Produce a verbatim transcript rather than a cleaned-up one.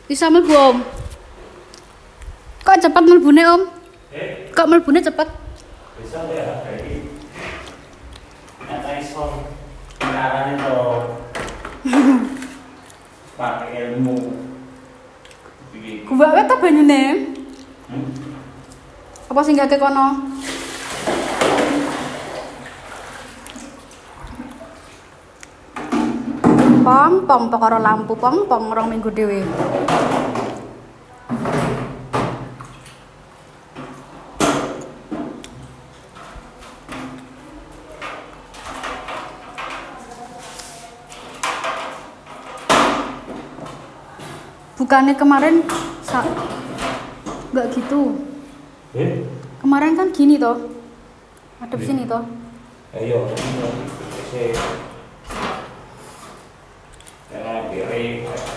Bisa mlebu Om. Kok cepet mlebune Om? Eh? Kok mlebune cepet? Bisa ya, kayak nyata iso caranya tuh pakai ilmu. Gua wae ta banyune. Hmm? Apa sing gak kono? Pong pong perkara lampu pong pong rong minggu dhewe. Bukannya kemarin sa nggak gitu. Eh? Kemarin kan gini toh. Hadap sini toh. Ayo, ini sih. Jangan kiri.